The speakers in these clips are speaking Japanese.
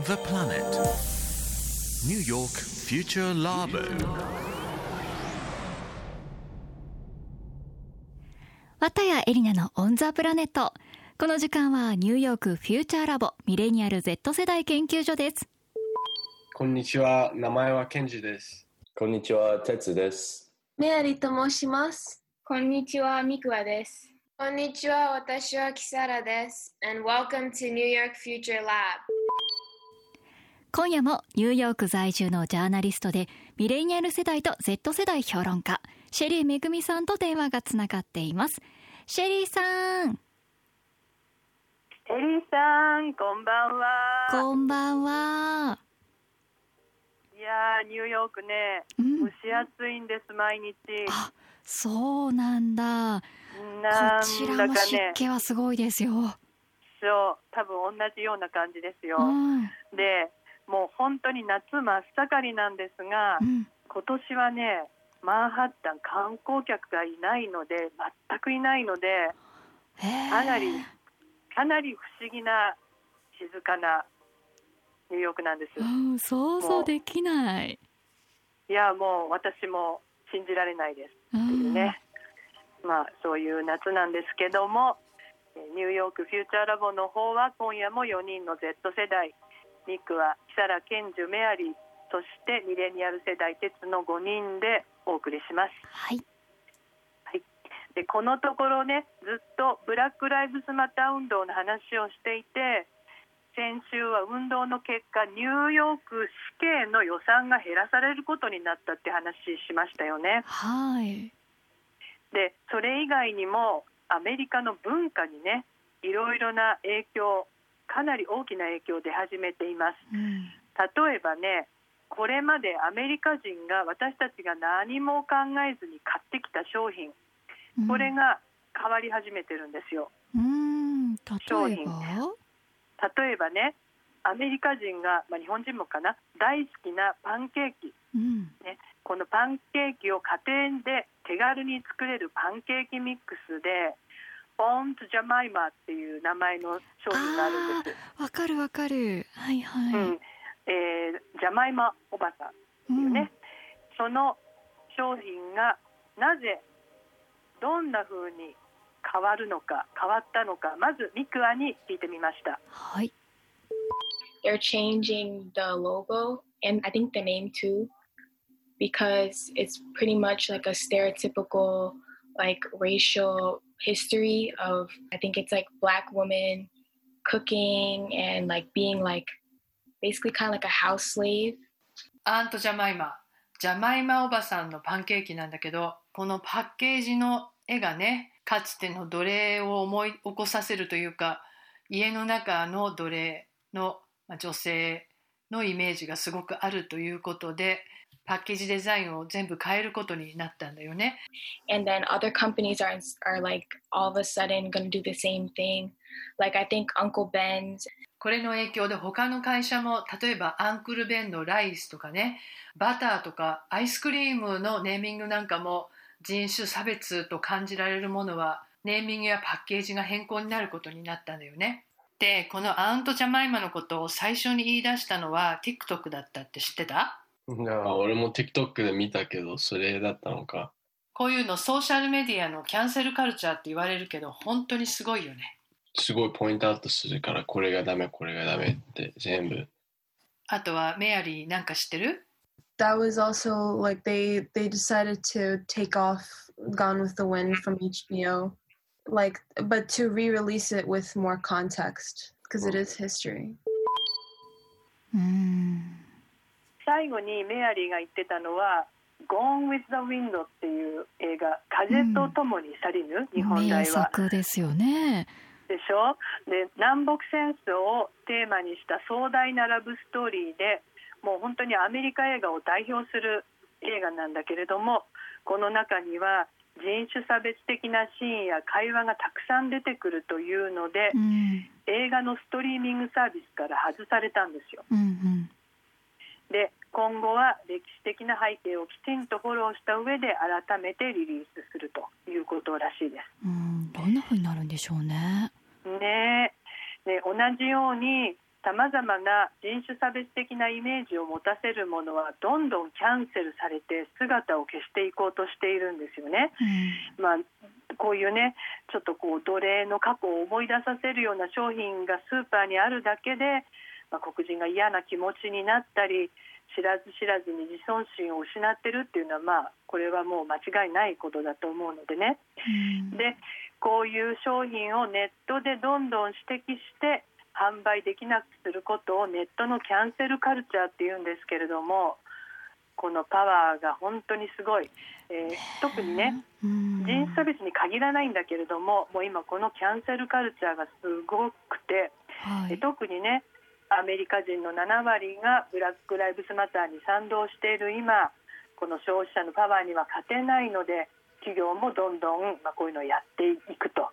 the planet. New York Future Labo. 綿谷エリナのオンザプラネット。この時間はニューヨークフューチャーラボミレニアル Z 世代研究所です。 こんにちは、名前はケンジです。 こんにちは、テツです。 メアリと申します。 こんにちは、ミクワです。 こんにちは、私はキサラです。And welcome to New York Future Lab。 今夜もニューヨーク在住のジャーナリストでミレニアル世代と Z 世代評論家シェリーめぐみさんと電話がつながっています。シェリーさん。 シェリーさん、こんばんは。 こんばんは。 いやー、ニューヨークね、蒸し暑いんです、毎日。 あ、そうなんだ。 なんこちらも湿気はすごいですよ。 そう、多分同じような感じですよ。で、もう本当に夏真っ盛りなんですが、今年はね、マンハッタン観光客がいないので、全くいないので、かなり不思議な静かなニューヨークなんです。 想像できない。 いや、もう私も信じられないですっていうね。まあそういう夏なんですけども、ニューヨークフューチャーラボの方は今夜も4人の Z 世代、ミクはキサラ、ケンジュ、メアリー、そしてミレニアル世代テツの5人でお送りします。 はい、 はい、でこのところね、ずっとブラックライブズマター運動の話をしていて、先週は運動の結果ニューヨーク市警の予算が減らされることになったって話しましたよね。 はい。 でそれ以外にもアメリカの文化にね、いろいろな影響、かなり大きな影響出始めています。例えばね、これまでアメリカ人が私たちが何も考えずに買ってきた商品、これが変わり始めてるんですよ。商品。例えばね、アメリカ人が、日本人もかな、大好きなパンケーキ、ね、このパンケーキを家庭で手軽に作れるパンケーキミックスでボンズジャマイマっていう名前の商品があるんです。 わかるわかる。はいはい。 ジャマイマおばさんっていうね、その商品がなぜどんな風に変わったのか、まずミクアに聞いてみました。 はい。 They're changing the logo and I think the name too, because it's pretty much like a stereotypical like racial history of, I think it's like black women cooking and like being like basically kind of like a house slave. アントジャマイマおばさんのパンケーキなんだけど、このパッケージの絵がね、かつての奴隷を思い起こさせるというか、家の中の奴隷の女性のイメージがすごくあるということで、パッケージデザインを全部変えることになったんだよね。 And then other companies are like all of a sudden going to do the same thing. Like I think Uncle Ben's. これの影響で他の会社も、例えばアンクルベンのライスとかね、バターとかアイスクリームのネーミングなんかも人種差別と感じられるものはネーミングやパッケージが変更になることになったんだよね。で、このアントジャマイマのことを最初に言い出したのは TikTok だったって知ってた？ 俺も TikTok で見たけど、それだったのか。 こういうのソーシャルメディアのキャンセルカルチャーって言われるけど、本当にすごいよね。 すごいポイントアウトするから、これがダメこれがダメって全部。 あとはメアリーなんか知ってる？ That was also like they decided to take off Gone with the Wind from HBO, like but to re-release it with more context because it is history. 最後にメアリーが言ってたのは Gone with the Wind っていう映画、風とともに去りぬ、日本題は名作ですよね。 でしょ。で、南北戦争をテーマにした壮大なラブストーリーで、もう本当にアメリカ映画を代表する映画なんだけれども、この中には人種差別的なシーンや会話がたくさん出てくるというので、映画のストリーミングサービスから外されたんですよ。で、今後は歴史的な背景をきちんとフォローした上で改めてリリースするということらしいです。 どんな風になるんでしょうね。 ねえ。で、同じようにさまざまな人種差別的なイメージを持たせるものはどんどんキャンセルされて姿を消していこうとしているんですよね。こういうねちょっと奴隷の過去を思い出させるような商品がスーパーにあるだけで、黒人が嫌な気持ちになったり知らず知らずに自尊心を失ってるっていうのは、これはもう間違いないことだと思うのでね、でこういう商品をネットでどんどん指摘して販売できなくすることをネットのキャンセルカルチャーっていうんですけれども、このパワーが本当にすごい、特にね人種差別に限らないんだけれども、もう今このキャンセルカルチャーがすごくて、特にねアメリカ人の7割がブラックライブスマターに賛同している今、この消費者のパワーには勝てないので企業もどんどんこういうのをやっていくと。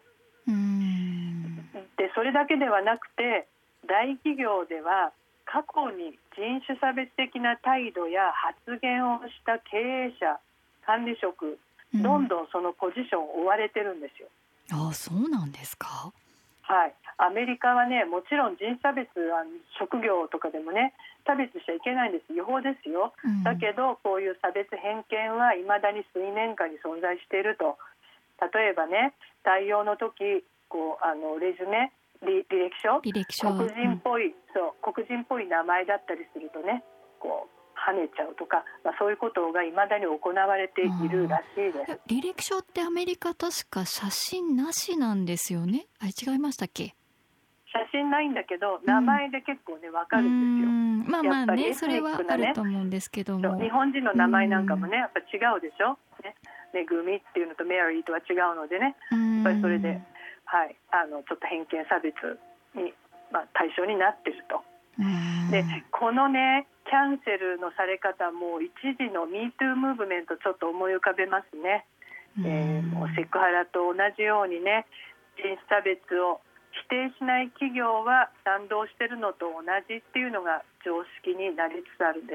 でそれだけではなくて大企業では過去に人種差別的な態度や発言をした経営者管理職、どんどんそのポジションを追われてるんですよ。 そうなんですか。 はい、アメリカはねもちろん人種差別は職業とかでもね差別しちゃいけないんです、違法ですよ、だけどこういう差別偏見は未だに水面下に存在していると。例えばね採用の時レジュメ履歴書黒人っぽい、黒人っぽい名前だったりするとね跳ねちゃうとか、そういうことが未だに行われているらしいです。 履歴書ってアメリカ確か写真なしなんですよね。違いましたっけ。 写真ないんだけど名前で結構ね分かるんですよ。やっぱりエスニックなね、 それはあると思うんですけども、 日本人の名前なんかもねやっぱ違うでしょ、めぐみっていうのとメアリーとは違うのでね、やっぱりそれで、ちょっと偏見差別に、対象になっていると。でこのねキャンセルのされ方も一時の MeToo ムーブメントちょっと思い浮かべますね。もうセクハラと同じようにね人種差別を否定しない企業は賛同しているのと同じっていうのが常識になりつつあるんです。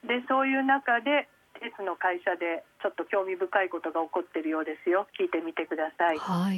でそういう中で鉄の会社でちょっと興味深いことが起こっているようですよ。聞いてみてください。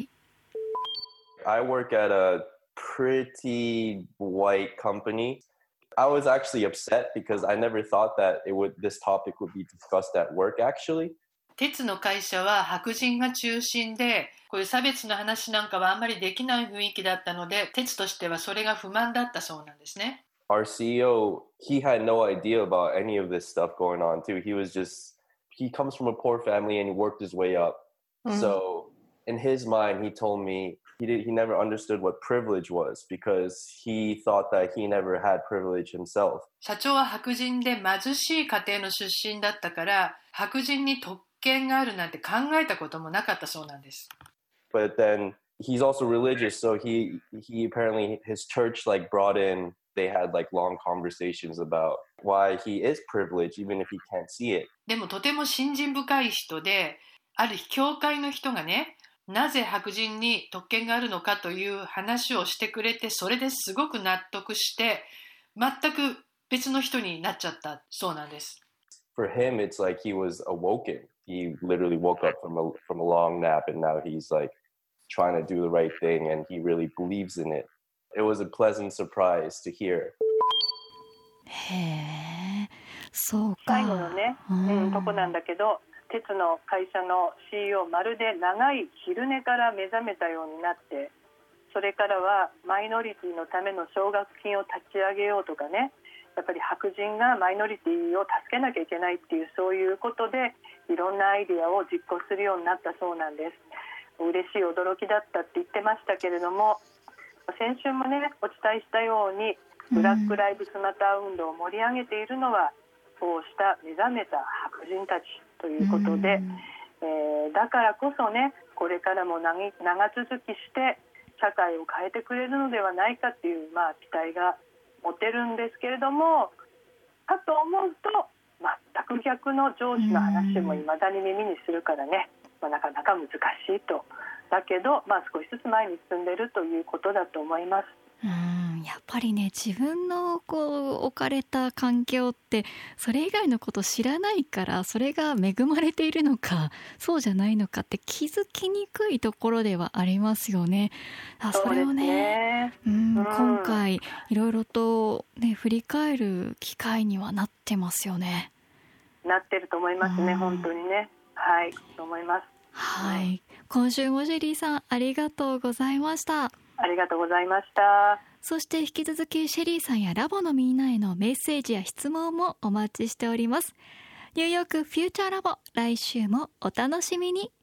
I work at a pretty white company. I was actually upset because I never thought that this topic would be discussed at work actually. 鉄の会社は白人が中心で、こういう差別の話なんかはあんまりできない雰囲気だったので、鉄としてはそれが不満だったそうなんですね。 Our CEO, he had no idea about any of this stuff going on too. He comes from a poor family and he worked his way up. So in his mind, he told me he never understood what privilege was because he thought that he never had privilege himself. 社長は白人で貧しい家庭の出身だったから、白人に特権があるなんて考えたこともなかったそうなんです。 But then he's also religious, so he apparently his church brought in. They had long conversations about why he is privileged even if he can't see it. でもとても信心深い人で、ある日教会の人がね、なぜ白人に特権があるのかという話をしてくれて、それですごく納得して全く別の人になっちゃったそうなんです。 For him, it's like he was awoken. He literally woke up from a long nap and now he's trying to do the right thing and he really believes in it. It was a pleasant surprise to hear. へー、そうか。 最後のね、とこなんだけど、鉄の会社の CEO まるで長い昼寝から目覚めたようになって、それからはマイノリティのための奨学金を立ち上げようとかね、やっぱり白人がマイノリティを助けなきゃいけないっていうそういうことでいろんなアイデアを実行するようになったそうなんです。嬉しい驚きだったって言ってましたけれども、先週もねお伝えしたようにブラックライブスマター運動を盛り上げているのはそうした目覚めた白人たちということで、だからこそねこれからも長続きして社会を変えてくれるのではないかっていう、期待が持てるんですけれども、かと思うと全く逆の上司の話も未だに耳にするからね、なかなか難しいと。だけど、少しずつ前に進んでいるということだと思います。 やっぱりね自分の置かれた環境ってそれ以外のこと知らないから、それが恵まれているのかそうじゃないのかって気づきにくいところではありますよね。それをね、 今回いろいろと、ね、振り返る機会にはなってますよね。 なってると思いますね、本当にね。はい、と思います。 はい、今週もシェリーさんありがとうございました。 ありがとうございました。 そして引き続きシェリーさんやラボのみんなへのメッセージや質問もお待ちしております。ニューヨークフューチャーラボ、来週もお楽しみに。